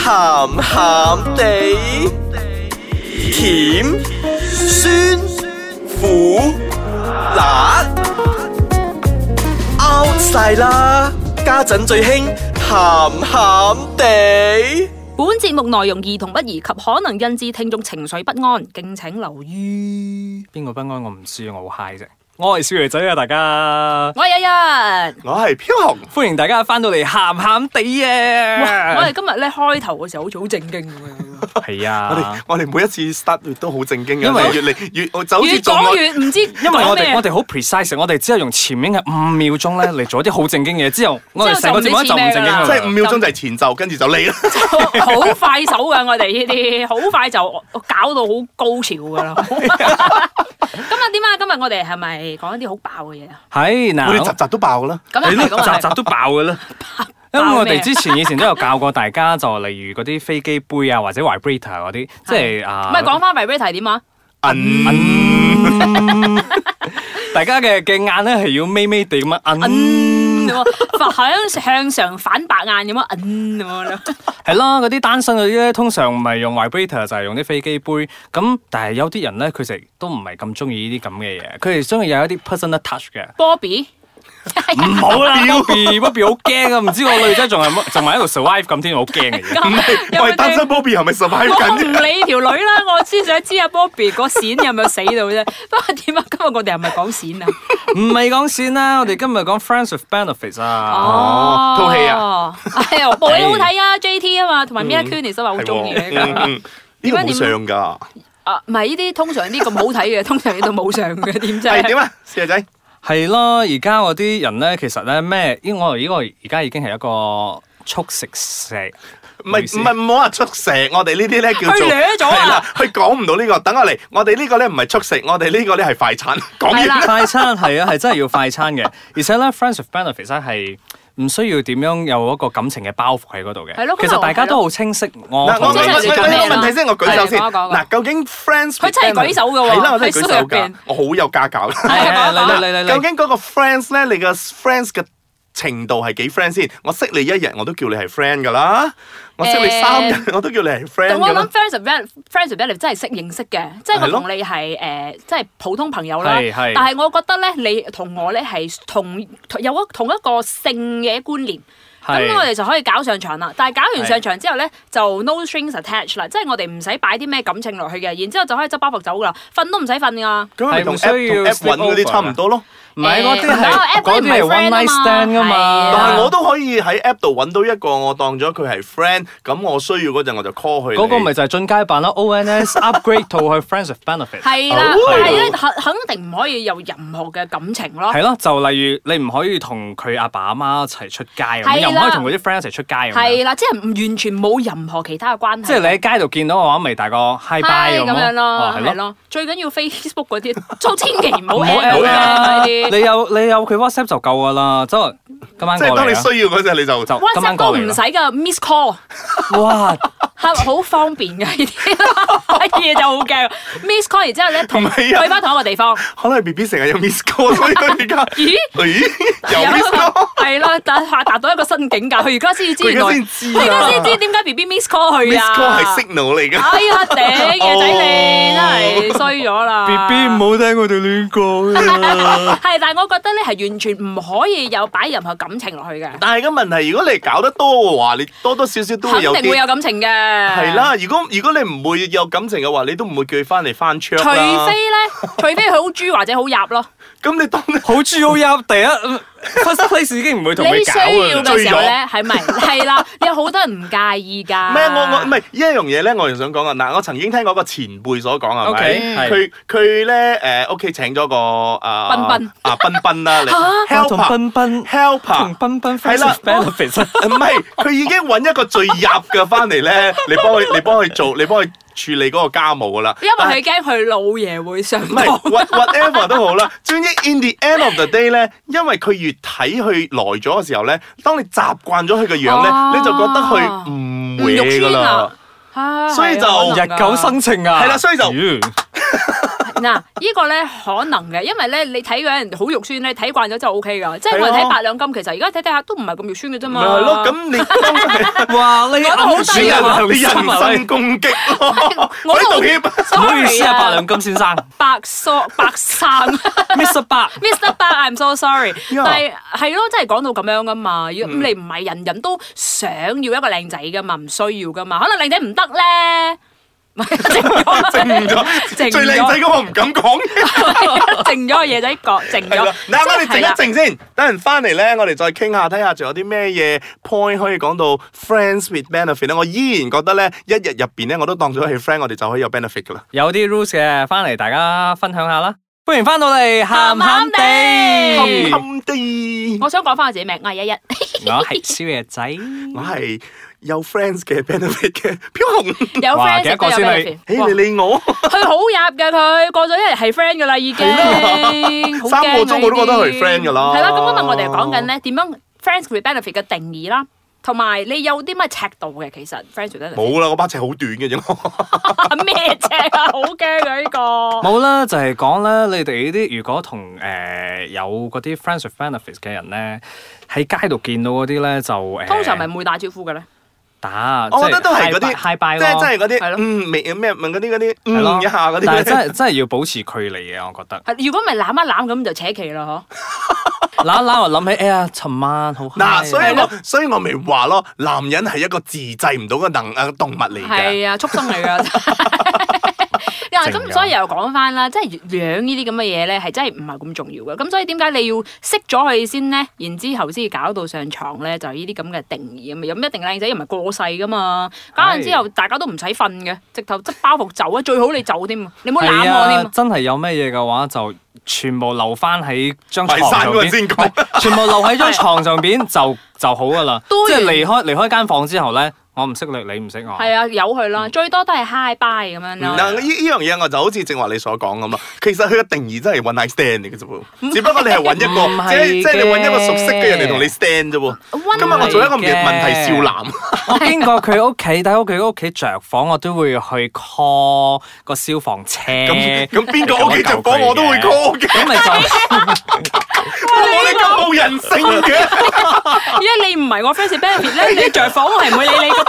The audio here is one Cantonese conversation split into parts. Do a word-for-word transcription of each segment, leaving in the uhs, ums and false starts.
鹹鹹地，甜酸苦辣 out 晒啦！家陣最興鹹鹹地。 本節目內容兒童不宜及可能引致聽眾情緒不安，敬請留意。 邊個不安我唔知，我好 high 啫。我係少爺仔啊，大家。 我係日日， 我係飄紅， 歡迎大家翻到嚟鹹鹹地啊！ 我哋今日咧開頭嘅時候好似好正經咁樣。 係啊， 我哋我哋每一次 start 都好正經嘅， 因為越嚟越我就好似越講越唔知， 因為我哋我哋好 precise， 我哋只係用前面嘅五秒鐘咧嚟做一啲好正經嘅嘢，之後我哋成個節目就唔正經啦。 即係五秒鐘就係前奏，跟住就嚟啦。 好快手㗎，我哋呢啲好快就搞到好高潮㗎啦。今日點啊？今日我哋係咪講一啲好爆嘅嘢啊？ 係嗱， 我哋集集都爆㗎啦。 咁啊係，咁啊係集集都爆㗎啦。因為我哋之前以前都有教過大家，就例如嗰啲飛機杯啊，或者 vibrator 嗰啲，即係啊。 唔係講翻 vibrator 點啊？ 大家嘅嘅眼咧係要眯眯地咁樣摁， 向向上反白眼咁樣摁咁樣咯。 係咯，嗰啲單身嗰啲咧，通常唔係用 vibrator 就係用啲飛機杯。咁但係有啲人咧，佢哋都唔係咁中意呢啲咁嘅嘢，佢哋中意有一啲 personal touch 嘅。 Bobby。 唔好啦 ，Bobby Bobby 好驚啊！唔知個女仔仲係仲係喺度 survive 咁添，好驚嘅。 唔係，我係單身 Bobby 係咪 survive 緊？ 我唔理條女啦，我先想知阿 Bobby 個閃有冇死到啫。不過點啊？今日我哋係咪講閃啊？ 唔係講閃啦，我哋今日講 Friends with Benefits 啊。 哦，套戲啊， 係啊，部戲好睇啊 ，J T 啊嘛，同埋 Mila Kunis 都話好中意嘅。 呢個冇上㗎。 啊，唔係呢啲通常啲咁好睇嘅，通常呢度冇上嘅，點啫？ 係點啊，四仔仔？ 係咯，而家嗰啲人咧，其實咧咩？因為我呢個而家已經係一個速食蛇， 唔係唔係唔好話速食，我哋呢啲咧叫做係啦，佢講唔到呢個。等我嚟，我哋呢個咧唔係速食，我哋呢個咧係快餐。講完快餐係啊，係真係要快餐嘅，而且咧 Friends with Benefits 咧係唔需要點樣有一個感情嘅包袱喺嗰度嘅。 係咯， 其實大家都好清晰。我嗱，我我我有問題先，我舉手先。 嗱， 嗱，究竟 Friends 佢真係舉手嘅喎， 係啦，我真係舉手㗎，我好有家教。 係嚟嚟嚟嚟嚟。 究竟嗰個 Friends 咧，你個 Friends 嘅程度係幾 friend 先？我識你一日，我都叫你係 friend 㗎啦。我識你三日，我都叫你係 friend 㗎啦。 我諗 friends with friends with benefits 真係識認識嘅，即係我同你係誒，即係普通朋友啦。但係我覺得咧，你同我咧係同有一同一個性嘅觀念。咁我哋就可以搞上場啦，但係搞完上場之後咧，就 no strings attached 啦，即係我哋唔使擺啲咩感情落去嘅，然之後就可以執包袱走噶啦，瞓都唔使瞓噶。 咁咪同 app 揾嗰啲差唔多咯。 唔係嗰啲係嗰啲係 one night stand 噶嘛。 但係我都可以喺 app 度揾到一個我當咗佢係 friend，咁我需要嗰陣我就 call 佢。 嗰個咪就係進階版啦 ，O N S upgrade 到去 friends with benefits。 係啦，但係咧肯肯定唔可以有任何嘅感情咯。 係咯，就例如你唔可以同佢阿爸阿媽一齊出街咁，又唔可以同佢啲 friend 一齊出街咁。 係啦，即係完全冇任何其他嘅關係。 即係你喺街度見到嘅話，咪大個 hi bye 咁樣咯，係咯。最緊要 Facebook 嗰啲，都千祈唔好 at 啊！ 你有你有佢 WhatsApp 就夠噶啦，即係今晚過嚟。 即係當你需要嗰陣，你就就今晚過嚟。 WhatsApp 都唔使噶 ，miss call。 哇！ 係好方便嘅呢啲嘢就好驚 ，miss call 然之後咧同去翻同一個地方。 可能 B B 成日有 miss call， 所以佢而家咦咦有 miss call 係咯，但係達到一個新境界。佢而家先知原來，佢而家先知點解 B B miss call 佢啊 ？miss call 係 signal 嚟㗎。 哎呀頂嘢仔你真係衰咗啦 ！B B 唔好聽我哋亂講啊！ 係，但係我覺得咧係完全唔可以有擺任何感情落去嘅。 但係個問題，如果你搞得多嘅話，你多多少少都會有啲。 肯定會有感情嘅。 係啦，如果如果你唔會有感情嘅話，你都唔會叫佢翻嚟翻桌啦。 除非咧，除非佢好豬或者好入咯。 咁你當好豬好入第一 first place 已經唔會同佢搞啊。 你需要嘅時候咧，係咪係啦？有好多人唔介意㗎。 唔係我我唔係呢一樣嘢咧，我又想講啊！嗱，我曾經聽過個前輩所講係咪？佢佢咧誒屋企請咗個啊賓賓啊賓賓啦，你 help 同賓賓 help 同賓賓係啦 benefits 唔係佢已經揾一個最入嘅翻嚟咧，你幫佢你幫佢做，你幫佢處理嗰個家務噶啦。 因為佢驚佢老爺會上當。 唔係 whatever 都好啦。總之 in the end of the day 咧，因為佢越睇佢來咗嘅時候咧，當你習慣咗佢嘅樣咧，你就覺得佢唔會噶啦。所以就日久生情啊。 係啦，所以就。 嗱，呢個咧可能嘅，因為咧你睇嗰人好肉酸咧，睇慣咗就 O K 噶。即係我哋睇八兩金，其實而家睇睇下都唔係咁肉酸嘅啫嘛。 咪係咯，咁你哇，你好低啊！ 你人身攻擊咯，我道歉， 唔好意思啊，八兩金先生。 白梳白衫 ，Mister 白 ，Mister 白 ，I'm so sorry。但係係咯，真係講到咁樣噶嘛。咁你唔係人人都想要一個靚仔噶嘛，唔需要噶嘛。可能靚仔唔得咧。靜咗， 靜咗，最靚仔嗰個唔敢講嘅， 靜咗個嘢仔講，靜咗。 嗱，我哋靜一靜先，等陣翻嚟咧，我哋再傾下，睇下仲有啲咩嘢 point 可以講到 friends with benefit 咧。我依然覺得咧，一日入邊咧，我都當咗係 friend，我哋就可以有 benefit 噶啦。 有啲 rules 嘅，翻嚟大家分享下啦。歡迎翻到嚟，鹹鹹地， 鹹鹹地。 我想講翻我自己名，我係一一， 我係宵夜仔， 我係。有 friends 嘅 benefit 嘅飄紅， 有 friends 嘅 benefit， 誒你理我， 佢好入嘅佢，過咗一日係 friend 噶啦已經， 三個鐘我都覺得係 friend 噶啦。 係啦，咁今日我哋講緊咧點樣 friends with benefit 嘅定義啦，同埋你有啲乜尺度嘅其實 friends with benefit。 冇啦，我把尺好短嘅啫。 咩尺啊？好驚啊呢個。 冇啦，就係講咧，你哋呢啲如果同誒有嗰啲 friends with benefit 嘅人咧，喺街度見到嗰啲咧就誒， 通常咪唔會打招呼嘅咧。 打， 我覺得都係嗰啲 high bye 即係真係嗰啲， 係咯， 嗯，未咩問嗰啲嗰啲，嗯一下嗰啲。 但係真係真係要保持距離嘅，我覺得。 如果唔係攬一攬咁就扯旗啦，嗬。 攬一攬我諗起，哎呀，尋晚好。 嗱，所以我所以我咪話咯，男人係一個自制唔到嘅能誒動物嚟嘅。 係啊，畜生嚟㗎。咁所以又講翻啦，即係樣呢啲咁嘅嘢咧，係真係唔係咁重要嘅。咁所以點解你要識咗佢先咧？然之後先搞到上床咧，就係呢啲咁嘅定義咁啊！有咩一定靚仔又唔係過世噶嘛？搞完之後大家都唔使瞓嘅，直頭執包袱走啊！最好你走添，你唔好攬我添。 真係有咩嘢嘅話，就全部留翻喺張床上邊。 先講， 全部留喺張床上邊就就好噶啦。即係離開離開間房之後咧。我唔識你，你唔識我。係啊，由佢啦，最多都係 hi bye 咁樣咯。 嗱，呢呢樣嘢我就好似正話你所講咁咯。其實佢嘅定義真係 one night stand 嚟嘅啫喎，只不過你係揾一個，即係即係你揾一個熟悉嘅人嚟同你 stand 啫喎。今日我做一個問題少男。 我經過佢屋企，但係佢屋企着火，我都會去 call 個消防車。 咁咁邊個屋企着火我都會 call 嘅。咁咪就我哋咁冇人性嘅。 因為你唔係我 friends benefit 咧，你着火我係唔會理你嘅。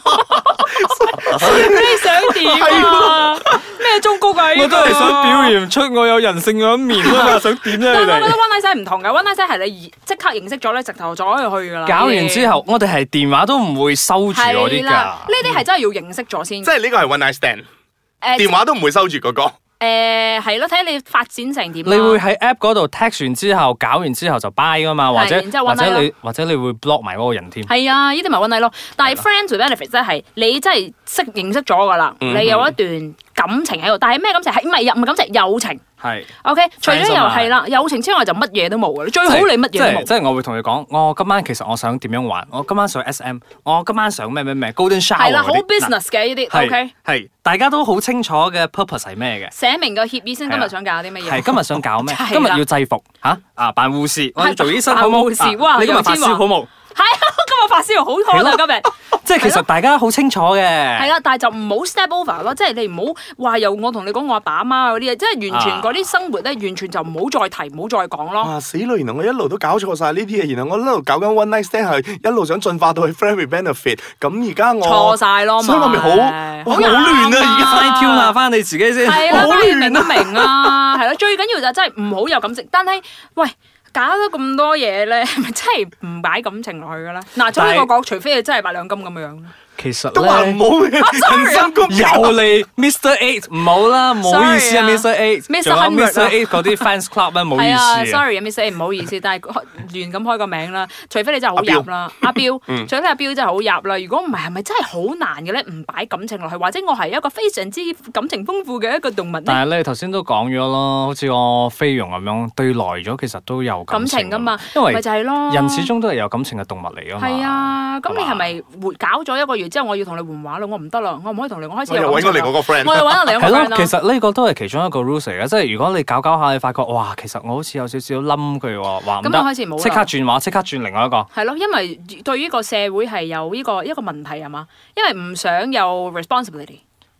你想點啊？咩中谷啊？ 我都係想表現出我有人性嘅一面啊！想點啫？ 我覺得 one night stand 唔同嘅 one night stand 係你即刻認識咗咧，直頭就可以去噶啦。 搞完之後，我哋係電話都唔會收住嗰啲㗎。 呢啲係真係要認識咗先。 即係呢個係 one night stand。誒，電話都唔會收住嗰個。 誒係咯，睇你發展成點。 你會喺 app 嗰度 text 完之後，搞完之後就 bye 噶嘛，或者或者你或者你會 block 埋嗰個人添。 係啊，呢啲咪 one night 咯。但係 friends with benefit 即係你真係識認識咗噶啦，你有一段感情喺度。但係咩感情？係唔係唔係感情？友情。 係。 OK，除咗又係啦，友情之外就乜嘢都冇嘅。最好你乜嘢都冇。 即係我會同你講，我今晚其實我想點樣玩？我今晚想 S M， 我今晚想咩咩咩 Golden Shower。 係啦，好 business 嘅呢啲。OK。 係，大家都好清楚嘅 purpose 係咩嘅？ 寫明個協議先，今日想搞啲乜嘢？ 係今日想搞咩？今日要制服嚇啊！扮護士，我要做醫生好冇？ 護士哇！ 你今日發燒好冇？ 係啊，今日發燒好開啊！今日即係其實大家好清楚嘅。 係啦，但係就唔好 step over 咯，即係你唔好話由我同你講我阿爸阿媽嗰啲嘢，即係完全嗰啲生活咧，完全就唔好再提，唔好再講咯。 啊死啦！原來我一路都搞錯晒呢啲嘢，原來我一路搞緊 one night stand 係一路想進化到去 friend with benefit，咁而家我錯晒咯， 所以我咪好好亂啊！而家快挑下翻你自己先， 係啦，翻明都明啊，係咯，最緊要就真係唔好有感情，但係喂。搞咗咁多嘢咧，係咪真係唔擺感情落去嘅咧？嗱，所以我講，除非你真係擺兩金咁樣。 其實都話唔好嘅，人身攻擊又嚟 Mister Eight 唔好啦，唔好意思啊 Mister Eight， 仲有 Mister Eight 嗰啲 fans club 咧，唔好意思啊 ，sorry 啊 Mister Eight 唔好意思，但係亂咁開個名啦，除非你真係好入啦，阿標，除非阿標真係好入啦，如果唔係，係咪真係好難嘅咧？唔擺感情落去，或者我係一個非常之感情豐富嘅一個動物咧？ 但係你頭先都講咗咯，好似我菲傭咁樣對耐咗，其實都有感情噶嘛， 因為咪就係咯， 人始終都係有感情嘅動物嚟噶嘛。 係啊，咁你係咪活搞咗一個月之後，我要同你換話咯？我唔得啦，我唔可以同你，我開始又揾我嚟嗰個 friend， 我又揾我嚟嗰個 friend 啦。 其實呢個都係其中一個 rules 嚟嘅，即係如果你搞搞下，你發覺哇，其實我好似有少少冧佢喎，話唔得，即刻轉話，即刻轉另外一個。係咯，因為對於個社會係有呢個一個問題係嘛，因為唔想有 responsibility。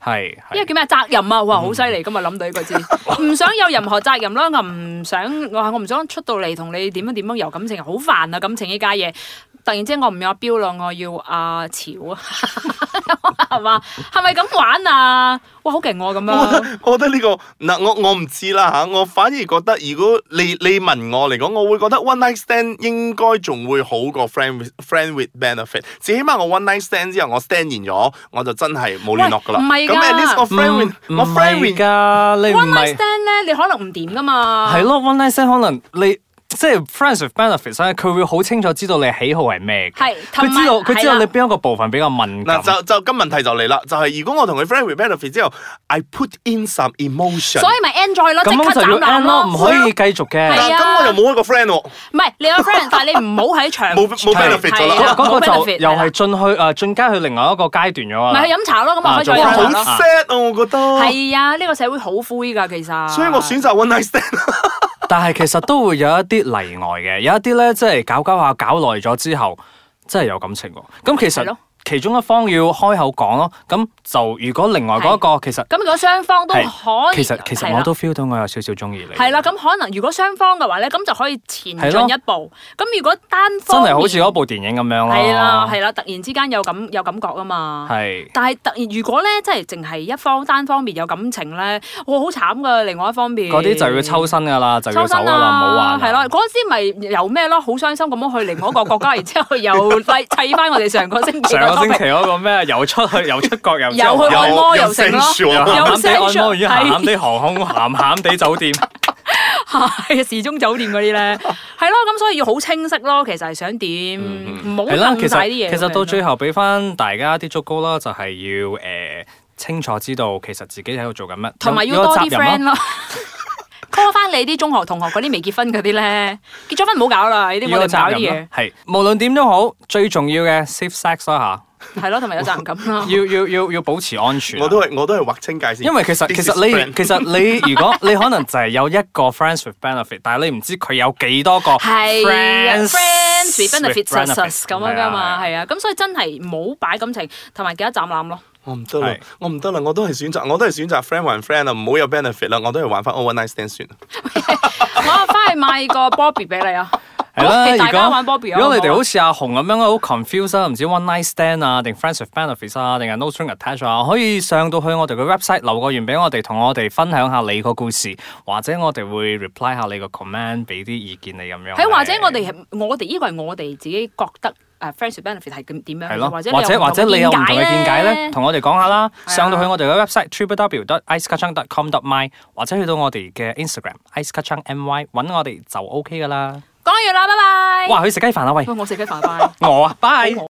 係， 因為叫咩責任啊？哇，好犀利！今日諗到呢個字，唔想有任何責任啦，我唔想我我唔想出到嚟同你點樣點樣有感情，好煩啊！感情呢家嘢。突然之間我唔要阿標啦，我要阿潮啊，係嘛？係咪咁玩啊？哇，好勁喎咁樣！ 我覺得呢、這個嗱，我我唔知啦嚇，我反而覺得如果你你問我嚟講，我會覺得 one night stand 應該仲會好過 friend with friend with benefit。至起碼我 one night stand 之後，我 stand 完咗，我就真係冇聯絡噶啦。 唔係㗎， 咁 at least 我 friend with 我 friend with 㗎，你唔係 one night stand 咧，你可能唔掂㗎嘛。 係咯 ，one night stand 可能你。即係 friends with benefits 咧，佢會好清楚知道你喜好係咩嘅。 係， 佢知道佢知道你邊一個部分比較敏感。 嗱，就就咁問題就嚟啦，就係、是、如果我同佢 friend with benefits 之後 ，I put in some emotion， 所以咪 enjoy 咯，即刻就要斬纜咯，唔可以繼續嘅。 嗱，咁我又冇一個 friend 喎。 唔係你有 friend，但係你唔好喺場冇冇 benefit 咗啦。 嗰個就又係進去誒進階去另外一個階段咗啊。 咪去飲茶咯，咁我可以再飲茶咯。 好 sad 啊，我覺得。 係啊，呢個社會好灰㗎，其實。 所以我選擇 one night stand。 但係其實都會有一啲例外嘅，有一啲咧即係搞搞下搞耐咗之後，真係有感情喎。咁其實其中一方要開口講咯。咁就如果另外嗰一個其實咁，如果雙方都可以， 其實其實我都 feel 到我有少少中意你。 係啦，咁可能如果雙方嘅話咧，咁就可以前進一步。咁如果單方真係好似嗰部電影咁樣咯。 係啦係啦，突然之間有感有感覺啊嘛。 係。 但係突然如果咧，即係淨係一方單方面有感情咧，哇好慘噶！另外一方面嗰啲就要抽身噶啦，就要走噶啦，唔好玩。 係咯，嗰陣時咪由咩咯，好傷心咁樣去另外一個國家，然之後又砌翻我哋上個星期上個星期嗰個咩？又出去又出國又又去按摩又成咯， 又鹹鹹地按摩，與鹹鹹地航空，鹹鹹地酒店， 係時鐘酒店嗰啲咧，係咯，咁所以要好清晰咯。其實係想點，唔好掟晒啲嘢。 其實到最後俾翻大家啲忠告啦，就係要誒清楚知道其實自己喺度做緊乜， 同埋要多啲 friend 咯。call 翻你啲中學同學嗰啲未結婚嗰啲咧，結咗婚唔好搞啦，呢啲我哋搞啲嘢。 係無論點都好，最重要嘅 safe sex 啦嚇。 係咯，同埋有責任感咯。 要要要要保持安全。 我都係我都係劃清界線。 因為其實其實你其實你如果你可能就係有一個 friends with benefit，但係你唔知佢有幾多個 friends friends with benefits 咁樣噶嘛，係啊，咁所以真係唔好擺感情，同埋記得斬纜咯。 我唔得啦，我唔得啦，我都係選擇，我都係選擇 friend 還 friend 啊，唔好有 benefit 啦，我都係玩翻 one night stand 算。 我翻去買個 Bobby 俾你啊！ 係啦， 大家玩 Bobby 啊！ 如果你哋好似阿紅咁樣好 confused 啊，唔知 one night stand 啊，定 friends with benefits 啊，定係 no string attached 啊，可以上到去我哋嘅 website 留個言俾我哋，同我哋分享下你個故事，或者我哋會 reply 下你個 comment，俾啲意見你咁樣。 係或者我哋係我哋呢個係我哋自己覺得。誒 friends with benefit 係咁點樣？ 係咯， 或者或者或者你有唔同嘅見解咧， 咧， 同我哋講下啦。上到去我哋嘅 website triple w dot ice kachang dot com dot my， 或者去到我哋嘅 Instagram ice kachang my 揾我哋就 OK 噶啦。 講完啦，拜拜。 哇，去食雞飯啊喂！ 我食雞飯，拜。 我啊，拜。